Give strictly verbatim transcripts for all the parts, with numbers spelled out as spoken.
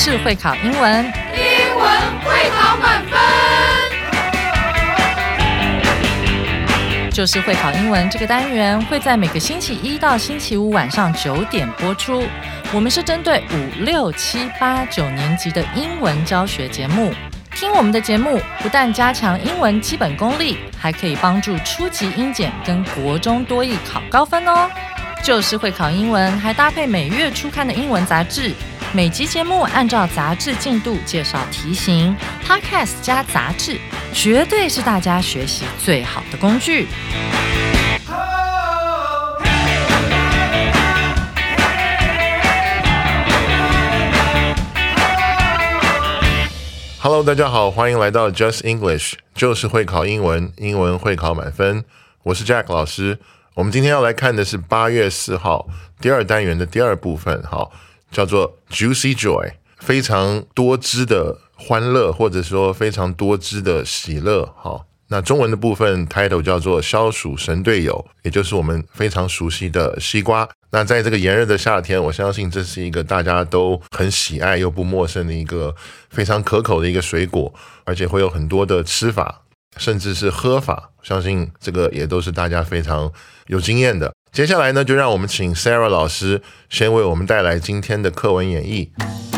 就是会考英文， 英文会考满分。 就是会考英文这个单元会在每个星期一到星期五晚上九点播出。我们是针对五六七八九年级的英文教学节目。听我们的节目，不但加强英文基本功力，还可以帮助初级英检跟国中多益考高分哦。就是会考英文，还搭配每月初刊的英文杂志。每集节目按照杂志进度介绍题型 ，Podcast 加杂志，绝对是大家学习最好的工具。 Hello， 大家好，欢迎来到 Just English， 就是会考英文，英文会考满分。我是 Jack 老师。我们今天要来看的是八月四号第二单元的第二部分，好，叫做 Juicy Joy， 非常多汁的欢乐，或者说非常多汁的喜乐。好，那中文的部分 title 叫做消暑神队友，也就是我们非常熟悉的西瓜。那在这个炎热的夏天，我相信这是一个大家都很喜爱又不陌生的一个非常可口的一个水果，而且会有很多的吃法，甚至是喝法，相信这个也都是大家非常有经验的。接下来呢，就让我们请 Sarah 老师先为我们带来今天的课文演绎。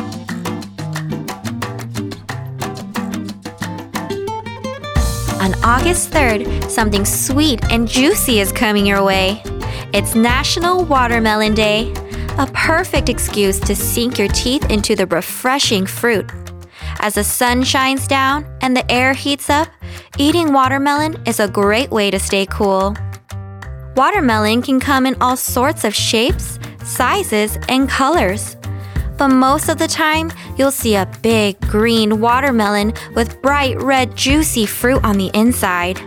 On August third, something sweet and juicy is coming your way. It's National Watermelon Day, a perfect excuse to sink your teeth into the refreshing fruit. As the sun shines down and the air heats up, eating watermelon is a great way to stay cool. Watermelon can come in all sorts of shapes, sizes, and colors. But most of the time, you'll see a big green watermelon with bright red juicy fruit on the inside.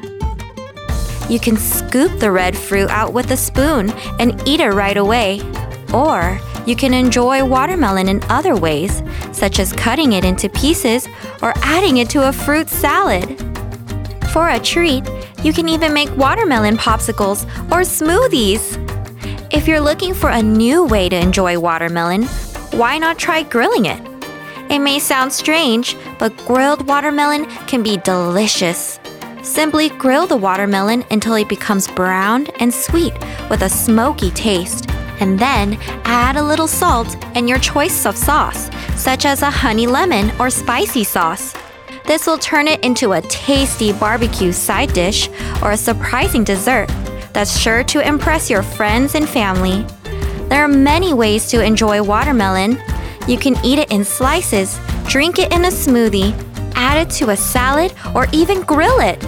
You can scoop the red fruit out with a spoon and eat it right away. Or you can enjoy watermelon in other ways, such as cutting it into pieces or adding it to a fruit salad. For a treat, you can even make watermelon popsicles or smoothies. If you're looking for a new way to enjoy watermelon, why not try grilling it? It may sound strange, but grilled watermelon can be delicious. Simply grill the watermelon until it becomes browned and sweet with a smoky taste, and then add a little salt and your choice of sauce, such as a honey lemon or spicy sauce. This will turn it into a tasty barbecue side dish or a surprising dessert that's sure to impress your friends and family. There are many ways to enjoy watermelon. You can eat it in slices, drink it in a smoothie, add it to a salad, or even grill it.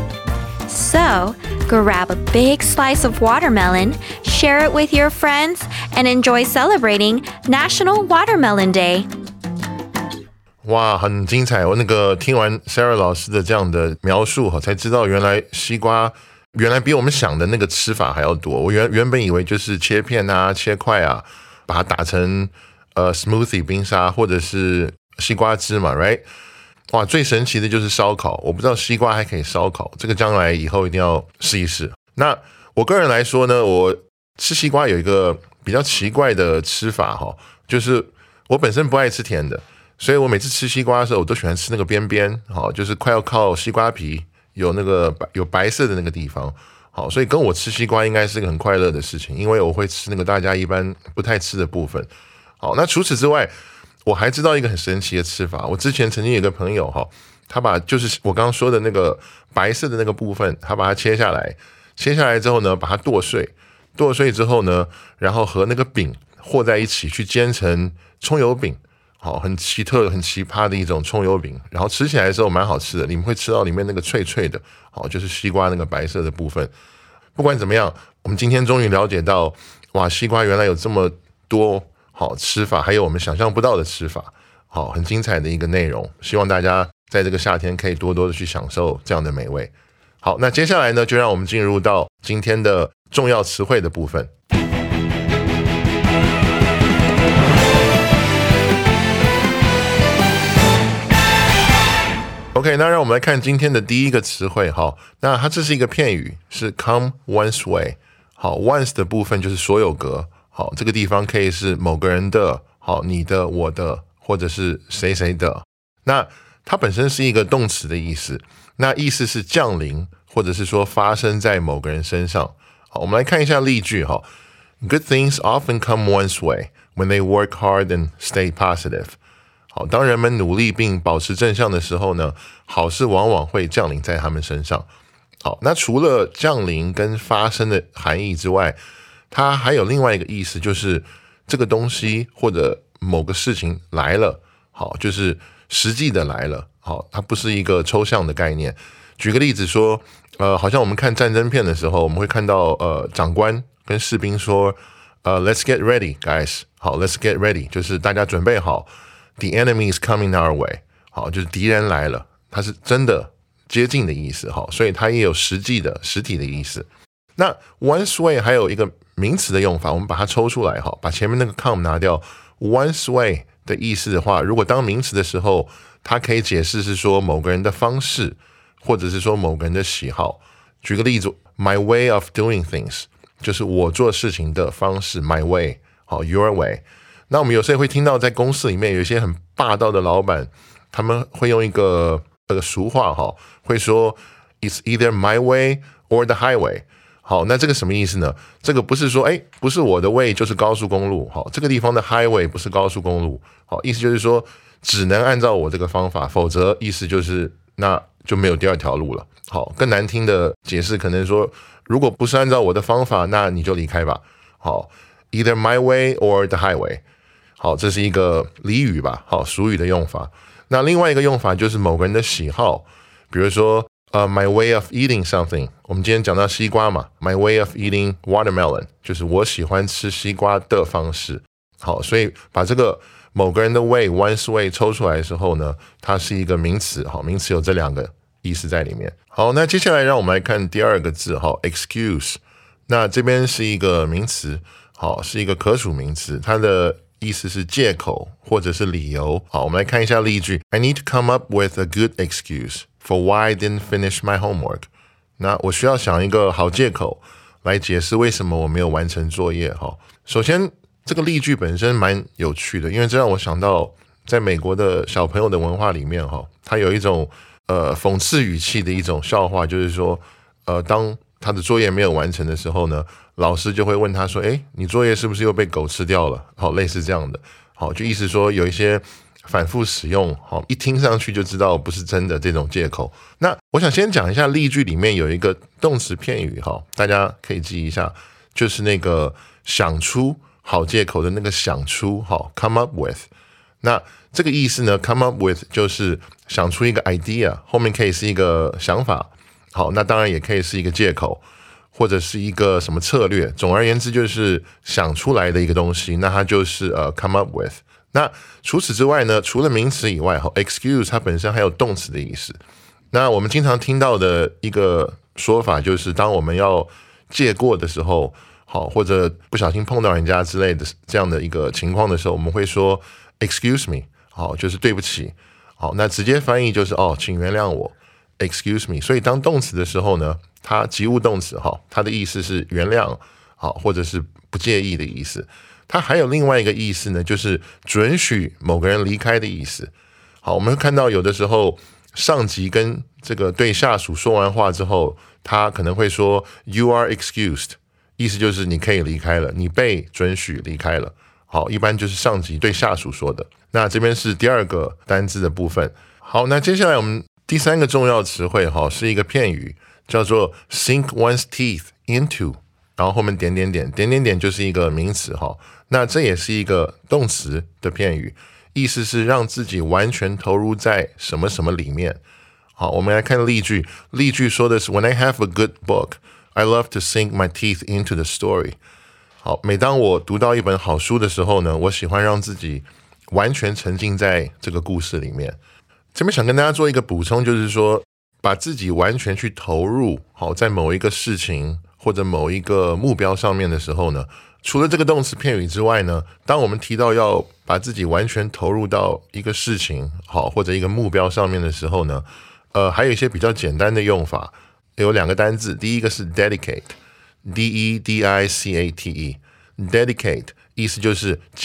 So, grab a big slice of watermelon, share it with your friends, and enjoy celebrating National Watermelon Day. 哇，很精彩！我那个听完 Sarah 老师的这样的描述，才知道原来西瓜原来比我们想的那个吃法还要多。我原原本以为就是切片啊、切块啊，把它打成呃 smoothie 冰沙或者是西瓜汁嘛 ，right？ 哇，最神奇的就是烧烤，我不知道西瓜还可以烧烤，这个将来以后一定要试一试。那我个人来说呢，我吃西瓜有一个比较奇怪的吃法哈，就是我本身不爱吃甜的，所以我每次吃西瓜的时候，我都喜欢吃那个边边，好，就是快要靠西瓜皮有那个有白色的那个地方，好，所以跟我吃西瓜应该是个很快乐的事情，因为我会吃那个大家一般不太吃的部分。好，那除此之外，我还知道一个很神奇的吃法。我之前曾经有个朋友哈，他把就是我刚刚说的那个白色的那个部分，他把它切下来，切下来之后呢，把它剁碎，剁碎之后呢，然后和那个饼和在一起去煎成葱油饼。好，很奇特、很奇葩的一种葱油饼，然后吃起来的时候蛮好吃的，你们会吃到里面那个脆脆的，好，就是西瓜那个白色的部分。不管怎么样，我们今天终于了解到，哇，西瓜原来有这么多好吃法，还有我们想象不到的吃法，好，很精彩的一个内容。希望大家在这个夏天可以多多的去享受这样的美味。好，那接下来呢，就让我们进入到今天的重要词汇的部分。OK， 那让我们来看今天的第一个词汇。好，那它这是一个片语，是 come one's way。好 ，once 的部分就是所有格。好，这个地方可以是某个人的，好，你的、我的， 或者是谁谁的。那它本身是一个动词的意思，那意思是降临，或者是说发生在某个人身上。好，我们来看一下例句哈。Good things often come one's way when they work hard and stay positive。好，当人们努力并保持正向的时候呢，好事往往会降临在他们身上。好，那除了降临跟发生的含义之外，它还有另外一个意思，就是这个东西或者某个事情来了，好，就是实际的来了。好，它不是一个抽象的概念。举个例子说，呃，好像我们看战争片的时候，我们会看到呃长官跟士兵说，呃 ，Let's get ready, guys。好 ，Let's get ready， 就是大家准备好。The enemy is coming our way。好，就是敌人来了，它是真的接近的意思。好，所以它也有实际的实体的意思。那 one's way 还有一个名词的用法，我们把它抽出来，哈，把前面那个 come 拿掉。one's way 的意思的话，如果当名词的时候，它可以解释是说某个人的方式，或者是说某个人的喜好。举个例子 ，my way of doing things 就是我做事情的方式 ，my way， 好 ，your way。那我们有时候会听到在公司里面有一些很霸道的老板，他们会用一个这个俗话哈，会说 It's either my way or the highway。好，那这个什么意思呢？这个不是说哎，不是我的 way 就是高速公路。好，这个地方的 highway 不是高速公路。好，意思就是说只能按照我这个方法，否则意思就是那就没有第二条路了。好，更难听的解释可能说，如果不是按照我的方法，那你就离开吧。好 ，either my way or the highway。好，这是一个俚语吧，好，俗语的用法。那另外一个用法就是某个人的喜好，比如说，呃、uh, ，my way of eating something。我们今天讲到西瓜嘛 ，my way of eating watermelon， 就是我喜欢吃西瓜的方式。好，所以把这个某个人的 way、one's way 抽出来的时候呢，它是一个名词。好，名词有这两个意思在里面。好，那接下来让我们来看第二个字，好 ，excuse。那这边是一个名词，好，是一个可数名词，它的意思是借口或者是理由。好，我们来看一下例句 I need to come up with a good excuse for why I didn't finish my homework。 那我需要想一个好借口来解释为什么我没有完成作业。好，首先这个例句本身蛮有趣的，因为这让我想到在美国的小朋友的文化里面，它有一种呃讽刺语气的一种笑话，就是说呃当他的作业没有完成的时候呢，老师就会问他说，诶，你作业是不是又被狗吃掉了？好，类似这样的。好，就意思说有一些反复使用，好，一听上去就知道不是真的这种借口。那我想先讲一下例句里面有一个动词片语，好，大家可以记一下，就是那个想出好借口的那个想出，好 ，come up with。那这个意思呢 ，come up with 就是想出一个 idea， 后面可以是一个想法。好，那当然也可以是一个借口，或者是一个什么策略。总而言之，就是想出来的一个东西，那它就是呃 come up with。那除此之外呢，除了名词以外 ，excuse 它本身还有动词的意思。那我们经常听到的一个说法就是，当我们要借过的时候，好，或者不小心碰到人家之类的这样的一个情况的时候，我们会说 excuse me， 好，就是对不起。好，那直接翻译就是哦，请原谅我。Excuse me， 所以当动词的时候呢，它及物动词哈，它的意思是原谅，好，或者是不介意的意思。它还有另外一个意思呢，就是准许某个人离开的意思。好，我们会看到有的时候上级跟这个对下属说完话之后，他可能会说 You are excused， 意思就是你可以离开了，你被准许离开了。好，一般就是上级对下属说的。那这边是第二个单字的部分。好，那接下来我们第三个重要词汇哈，是一个片语，叫做 sink one's teeth into， 然后后面点点点，点点点就是一个名词哈。那这也是一个动词的片语，意思是让自己完全投入在什么什么里面。好，我们来看例句，例句说的是 When I have a good book, I love to sink my teeth into the story。 好，每当我读到一本好书的时候呢，我喜欢让自己完全沉浸在这个故事里面。这边想跟大家做一个补充，就是说把自己完全去投入好在某一个事情或者某一个目标上面的时候呢，除了这个动词片语之外呢，当我们提到要把自己完全投入到一个事情好或者一个目标上面的时候呢，呃，还有一些比较简单的用法，有两个单字，第一个是 dedicate，D E D I C A T E， dedicate 意思就是将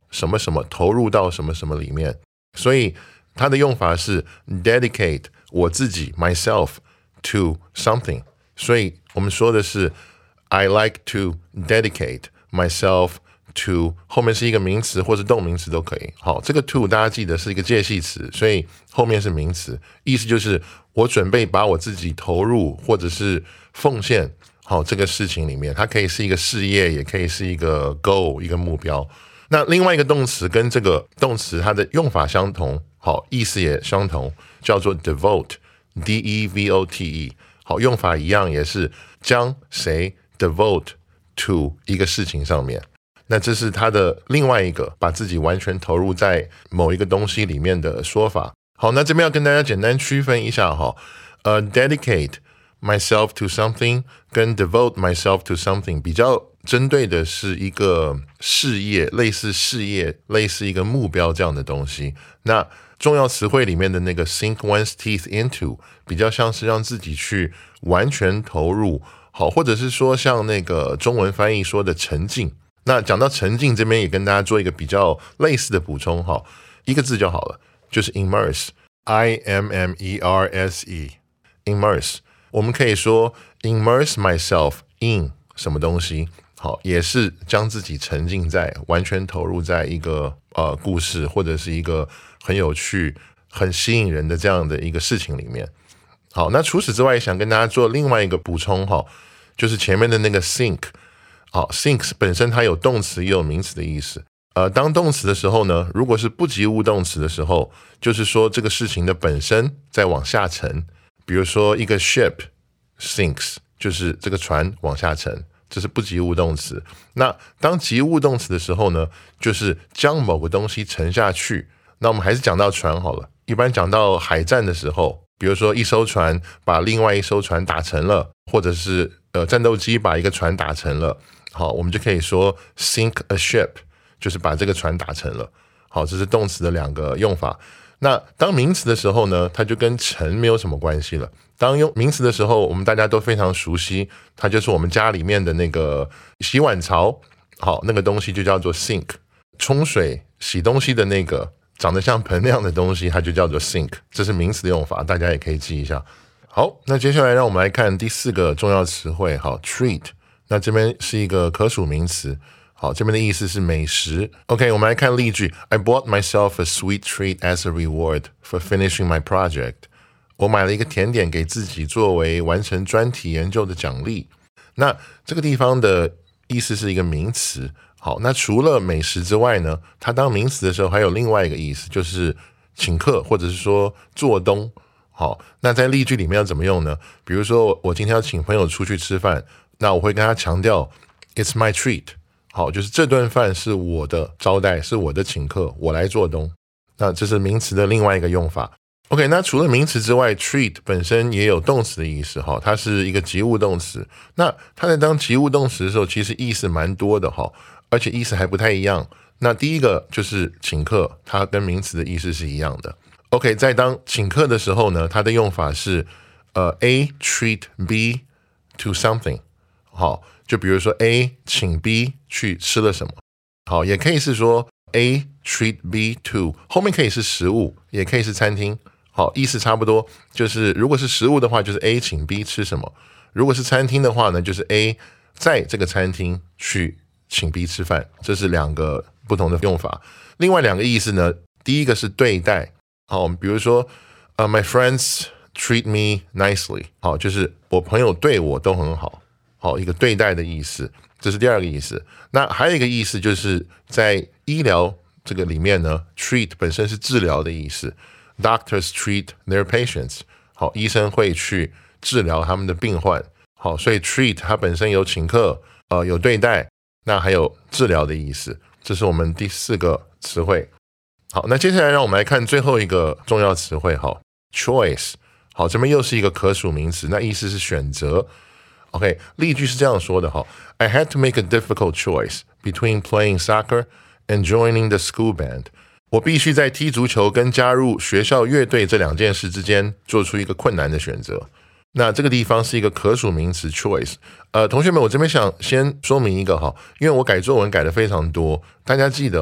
什么什么，投入到什么什么里面。所以它的用法是 dedicate 我自己 myself to something。所以我们说的是 I like to dedicate myself to 后面是一个名词或是动名词都可以。好，这个 to 大家记得是一个介系词，所以后面是名词，意思就是我准备把我自己投入或者是奉献好这个事情里面。它可以是一个事业，也可以是一个 goal 一个目标。那另外一个动词跟这个动词它的用法相同，好，意思也相同，叫做 devote D E V O T E。 好，用法一样，也是将谁 devote to 一个事情上面。那这是它的另外一个把自己完全投入在某一个东西里面的说法。好，那这边要跟大家简单区分一下哈，呃 dedicate myself to something 跟 devote myself to something 比较针对的是一个事业，类似事业，类似一个目标这样的东西。那重要词汇里面的那个 sink one's teeth into 比较像是让自己去完全投入，好，或者是说像那个中文翻译说的沉浸。那讲到沉浸这边也跟大家做一个比较类似的补充哈，一个字就好了，就是 immerse I M M E R S E immerse。 我们可以说 immerse myself in 什么东西，好，也是将自己沉浸在完全投入在一个呃故事或者是一个很有趣很吸引人的这样的一个事情里面。好，那除此之外想跟大家做另外一个补充哈，就是前面的那个 sink。好 sink 本身它有动词也有名词的意思。呃，当动词的时候呢，如果是不及物动词的时候，就是说这个事情的本身在往下沉。比如说一个 ship sinks 就是这个船往下沉，这是不及物动词。那当及物动词的时候呢，就是将某个东西沉下去。那我们还是讲到船好了，一般讲到海战的时候，比如说一艘船把另外一艘船打沉了，或者是呃战斗机把一个船打沉了，好，我们就可以说 sink a ship 就是把这个船打沉了。好，这是动词的两个用法。那当名词的时候呢，它就跟沉没有什么关系了。当用名词的时候，我们大家都非常熟悉，它就是我们家里面的那个洗碗槽，好，那个东西就叫做 sink。 冲水洗东西的那个长得像盆那样的东西，它就叫做 sink， 这是名词的用法，大家也可以记一下。好，那接下来让我们来看第四个重要词汇，好 treat。 那这边是一个可数名词，好，这边的意思是美食。 OK， 我们来看例句。 I bought myself a sweet treat as a reward for finishing my project。 我买了一个甜点给自己作为完成专题研究的奖励。那这个地方的意思是一个名词。好，那除了美食之外呢，它当名词的时候还有另外一个意思，就是请客或者是说做东。好，那在例句里面要怎么用呢？比如说我今天要请朋友出去吃饭，那我会跟他强调 It's my treat。 好，就是这顿饭是我的招待，是我的请客，我来做东。那这是名词的另外一个用法。 OK， 那除了名词之外， treat 本身也有动词的意思，它是一个及物动词。那它在当及物动词的时候，其实意思蛮多的，而且意思还不太一样。那第一个就是请客，它跟名词的意思是一样的。 OK， 在当请客的时候呢，它的用法是呃 A treat B to something。 好，就比如说 A 请 B 去吃了什么。好，也可以是说 A treat B to， 后面可以是食物，也可以是餐厅。好，意思差不多，就是如果是食物的话，就是 A 请 B 吃什么；如果是餐厅的话呢，就是 A 在这个餐厅去请 B 吃饭。这是两个不同的用法。另外两个意思呢，第一个是对待。好，比如说、uh, My friends treat me nicely。 好，就是我朋友对我都很好。好，一个对待的意思，这是第二个意思。那还有一个意思就是在医疗这个里面呢， treat 本身是治疗的意思。Doctors treat their patients。 好，医生会去治疗他们的病患。好，所以 treat 它本身有请客，呃，有对待，那还有治疗的意思。这是我们第四个词汇。好，那接下来让我们来看最后一个重要词汇，好 choice。 好，这边又是一个可数名词，那意思是选择。 OK， 例句是这样说的， I had to make a difficult choice between playing soccer and joining the school band。 我必须在踢足球跟加入学校乐队这两件事之间做出一个困难的选择。那这个地方是一个可数名词 choice。 呃，同学们，我这边想先说明一个哈，因为我改作文改的非常多，大家记得哈，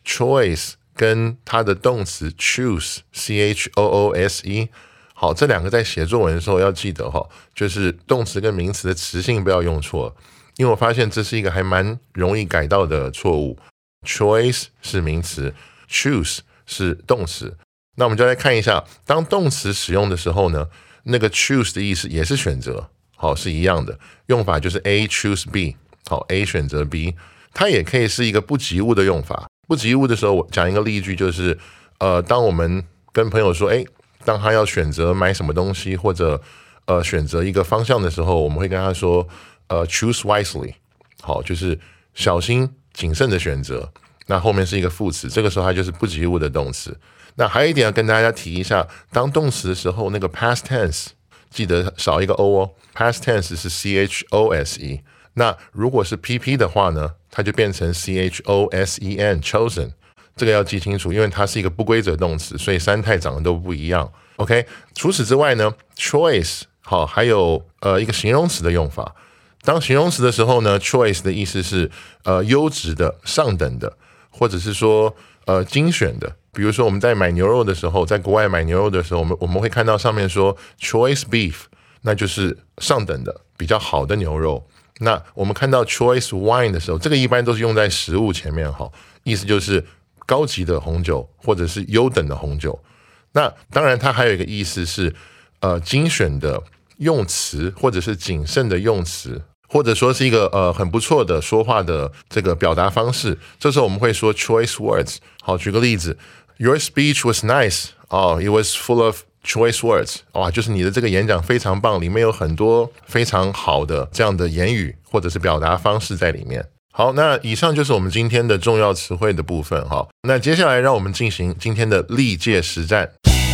choice 跟它的动词 choose C H O O S E， 好，这两个在写作文的时候要记得哈，就是动词跟名词的词性不要用错，因为我发现这是一个还蛮容易改到的错误。choice 是名词， choose 是动词。那我们就来看一下，当动词使用的时候呢，那个 choose 的意思也是选择，好，是一样的，用法就是 A choose B， 好 A 选择 B， 它也可以是一个不及物的用法。不及物的时候，我讲一个例句，就是呃，当我们跟朋友说，哎，当他要选择买什么东西或者呃选择一个方向的时候，我们会跟他说，呃 choose wisely， 好，就是小心谨慎的选择。那后面是一个副词，这个时候它就是不及物的动词。那还有一点要跟大家提一下，当动词的时候，那个 past tense 记得少一个 o 哦 ，past tense 是 C H O S E。那如果是 P P 的话呢，它就变成 C H O S E N chosen， 这个要记清楚，因为它是一个不规则动词，所以三态长得都不一样。OK， 除此之外呢 ，choice 好，还有呃一个形容词的用法。当形容词的时候呢 ，choice 的意思是呃优质的、上等的，或者是说呃精选的。比如说我们在买牛肉的时候，在国外买牛肉的时候，我们我们会看到上面说 choice beef， 那就是上等的、比较好的牛肉。那我们看到 choice wine 的时候，这个一般都是用在食物前面，哈，意思就是高级的红酒或者是优等的红酒。那当然它还有一个意思是呃精选的用词，或者是谨慎的用词，或者说是一个呃很不错的说话的这个表达方式。这时候我们会说 choice words。好，举个例子 ，Your speech was nice. Oh, it was full of choice words. 哇，就是你的这个演讲非常棒，里面有很多非常好的这样的言语或者是表达方式在里面。好，那以上就是我们今天的重要词汇的部分。好，那接下来让我们进行今天的历届实战。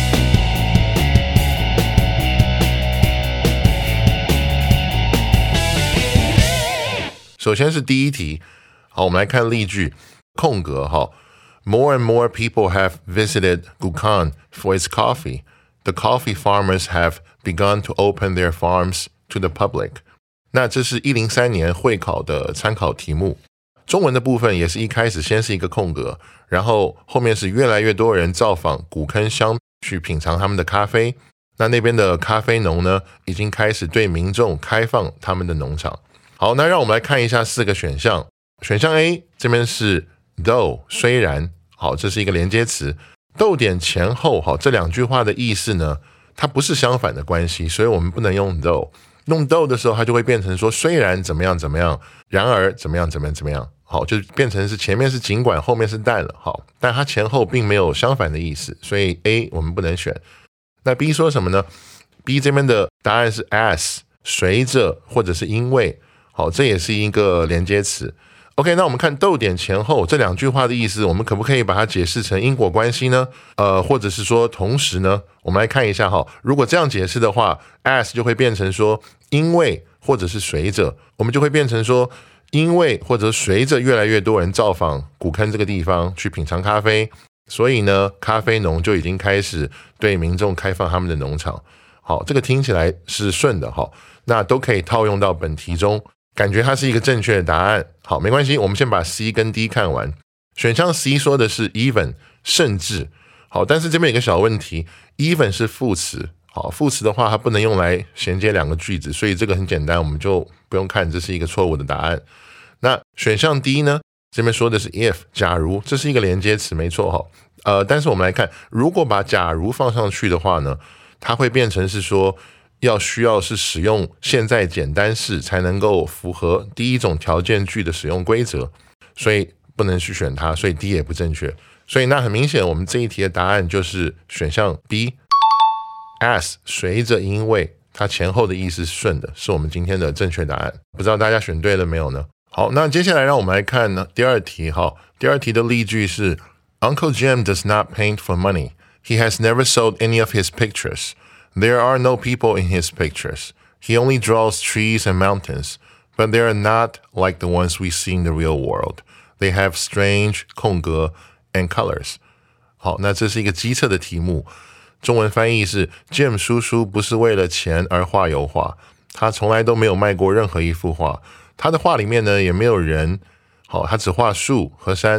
首先是第一题，好，我们来看例句，空格哈 ，More and more people have visited Gukhan for its coffee. The coffee farmers have begun to open their farms to the public. 那这是一零三年会考的参考题目。中文的部分也是一开始先是一个空格，然后后面是越来越多人造访古坑乡去品尝他们的咖啡。那那边的咖啡农呢，已经开始对民众开放他们的农场。好，那让我们来看一下四个选项。选项 A 这边是 though 虽然，好，这是一个连接词。逗点前后，好，这两句话的意思呢，它不是相反的关系，所以我们不能用 though。用 though 的时候，它就会变成说虽然怎么样怎么样，然而怎么样怎么样怎么样，好，就变成是前面是尽管，后面是但了，好，但它前后并没有相反的意思，所以 A 我们不能选。那 B 说什么呢？ B 这边的答案是 as 随着或者是因为，好，这也是一个连接词。OK， 那我们看逗点前后这两句话的意思，我们可不可以把它解释成因果关系呢？呃，或者是说同时呢？我们来看一下哈，如果这样解释的话 ，as 就会变成说因为或者是随着，我们就会变成说因为或者随着越来越多人造访古坑这个地方去品尝咖啡，所以呢，咖啡农就已经开始对民众开放他们的农场。好，这个听起来是顺的哈，那都可以套用到本题中。感觉它是一个正确的答案。好，没关系，我们先把 C 跟 D 看完。选项 C 说的是 even 甚至，好，但是这边有个小问题 ，even 是副词，好，副词的话它不能用来衔接两个句子，所以这个很简单，我们就不用看，这是一个错误的答案。那选项 D 呢？这边说的是 if 假如，这是一个连接词，没错哈。呃，但是我们来看，如果把假如放上去的话呢，它会变成是说。要需要是使用现在简单式才能够符合第一种条件句的使用规则，所以不能去选它，所以 D 也不正确。所以那很明显，我们这一题的答案就是选项 B as 随着因为它前后的意思是顺的，是我们今天的正确答案。不知道大家选对了没有呢？好，那接下来让我们来看呢第二题哈。第二题的例句是 Uncle Jim does not paint for money. He has never sold any of his pictures.There are no people in his pictures. He only draws trees and mountains, but they are not like the ones we see in the real world. They have strange 空格 and colors. 好，那这是一个机测的题目，中文翻译是 Jim 叔叔不是为了钱而画油画，他从来都没有卖过任何一幅画，他的画里面呢也没有人，好，他只画树和山，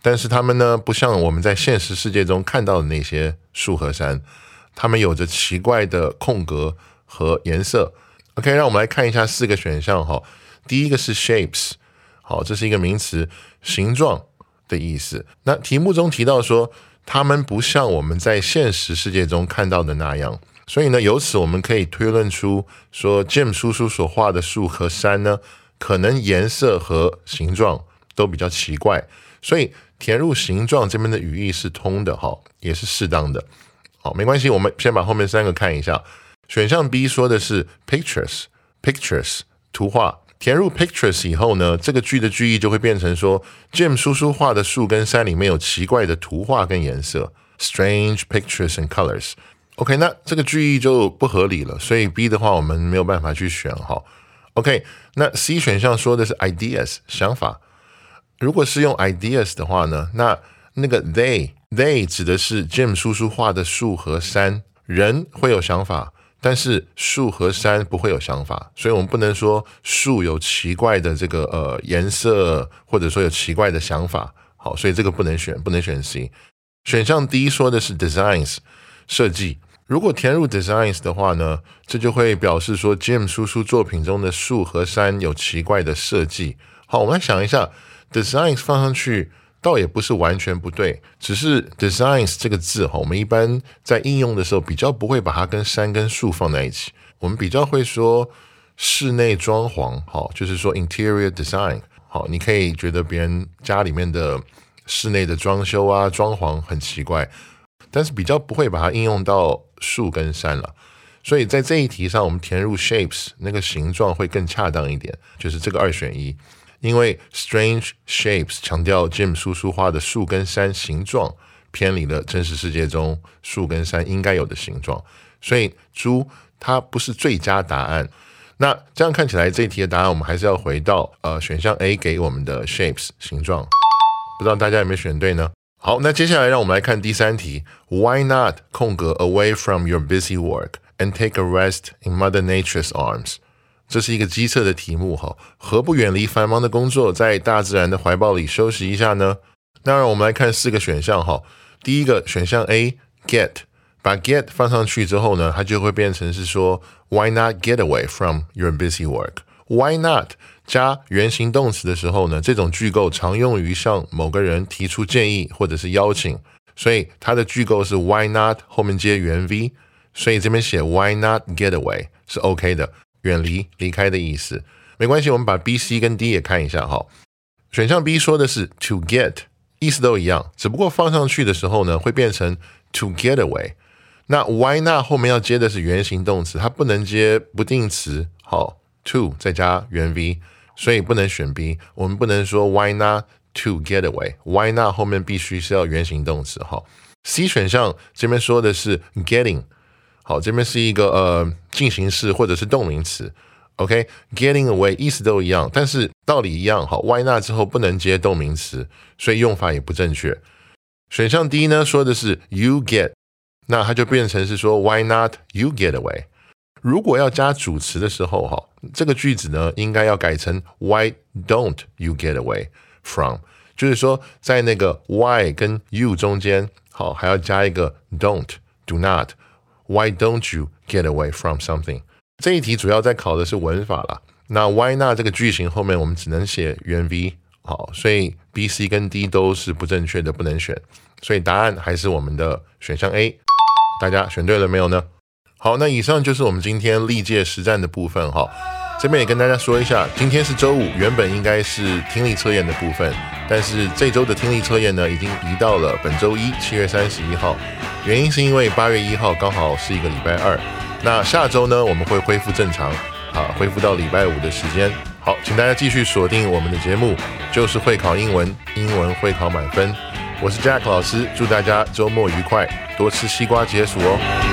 但是它们呢，不像我们在现实世界中看到的那些树和山，它们有着奇怪的空格和颜色。OK， 让我们来看一下四个选项哈。第一个是 shapes， 好，这是一个名词，形状的意思。那题目中提到说，它们不像我们在现实世界中看到的那样，所以呢，由此我们可以推论出说 Jim 叔叔所画的树和山呢，可能颜色和形状都比较奇怪，所以填入形状这边的语义是通的，也是适当的。好，没关系，我们先把后面三个看一下。选项 B 说的是 pictures pictures 图画，填入 pictures 以后呢，这个句的句意就会变成说 Jim 叔叔画的树跟山里面有奇怪的图画跟颜色 strange pictures and colors。 OK， 那这个句意就不合理了，所以 B 的话我们没有办法去选。好 OK， 那 C 选项说的是 ideas 想法，如果是用 ideas 的话呢，那那个 they they 指的是 Jim 叔叔画的树和山，人会有想法，但是树和山不会有想法，所以我们不能说树有奇怪的这个呃颜色，或者说有奇怪的想法。好，所以这个不能选，不能选 C。选项 D 说的是 designs 设计，如果填入 designs 的话呢，这就会表示说 Jim 叔叔作品中的树和山有奇怪的设计。好，我们来想一下 designs 放上去倒也不是完全不对，只是 designs 这个字我们一般在应用的时候比较不会把它跟山跟树放在一起，我们比较会说室内装潢，好，就是说 interior design。 好，你可以觉得别人家里面的室内的装修啊装潢很奇怪，但是比较不会把它应用到树跟山了。所以在这一题上我们填入 shapes 那个形状会更恰当一点，就是这个二选一。因为 strange shapes 强调 Jim 叔叔画的树跟山形状偏离了真实世界中树跟山应该有的形状，所以猪它不是最佳答案。那这样看起来这一题的答案我们还是要回到呃选项 A 给我们的 shapes 形状，不知道大家有没有选对呢？好，那接下来让我们来看第三题。 Why not 空格 away from your busy work and take a rest in Mother Nature's arms？这是一个机测的题目，何不远离繁忙的工作，在大自然的怀抱里休息一下呢？那让我们来看四个选项。第一个选项 A get， 把 get 放上去之后呢，它就会变成是说 Why not get away from your busy work？ Why not 加原形动词的时候呢，这种句构常用于向某个人提出建议或者是邀请，所以它的句构是 Why not 后面接原 V， 所以这边写 Why not get away 是 OK 的，远离离开的意思。没关系，我们把 B、C 跟 D 也看一下。好，选项 B 说的是 to get， 意思都一样，只不过放上去的时候呢会变成 to get away。 那 why not 后面要接的是原形动词，它不能接不定词，好 to 再加原 V， 所以不能选 B。 我们不能说 why not to get away， why not 后面必须是要原形动词。好， C 选项这边说的是 getting，好，这边是一个呃进行式或者是动名词。 OK， getting away 意思都一样，但是道理一样。好， why not 之后不能接动名词，所以用法也不正确。选项 D 呢说的是 you get， 那它就变成是说 why not you get away。 如果要加主词的时候，好，这个句子呢应该要改成 why don't you get away from， 就是说在那个 why 跟 you 中间，好，还要加一个 don't do not。Why don't you get away from something？ 这一题主要在考的是文法啦。那 why not 这个句型后面我们只能写原 V， 好，所以 B、C 跟 D 都是不正确的，不能选。所以答案还是我们的选项 A。 大家选对了没有呢？好，那以上就是我们今天历届实战的部分哈。这边也跟大家说一下，今天是周五，原本应该是听力测验的部分，但是这周的听力测验呢已经移到了本周一七月三十一号，原因是因为八月一号刚好是一个礼拜二。那下周呢我们会恢复正常，啊，恢复到礼拜五的时间。好，请大家继续锁定我们的节目，就是会考英文，英文会考满分。我是 Jack 老师，祝大家周末愉快，多吃西瓜解暑哦。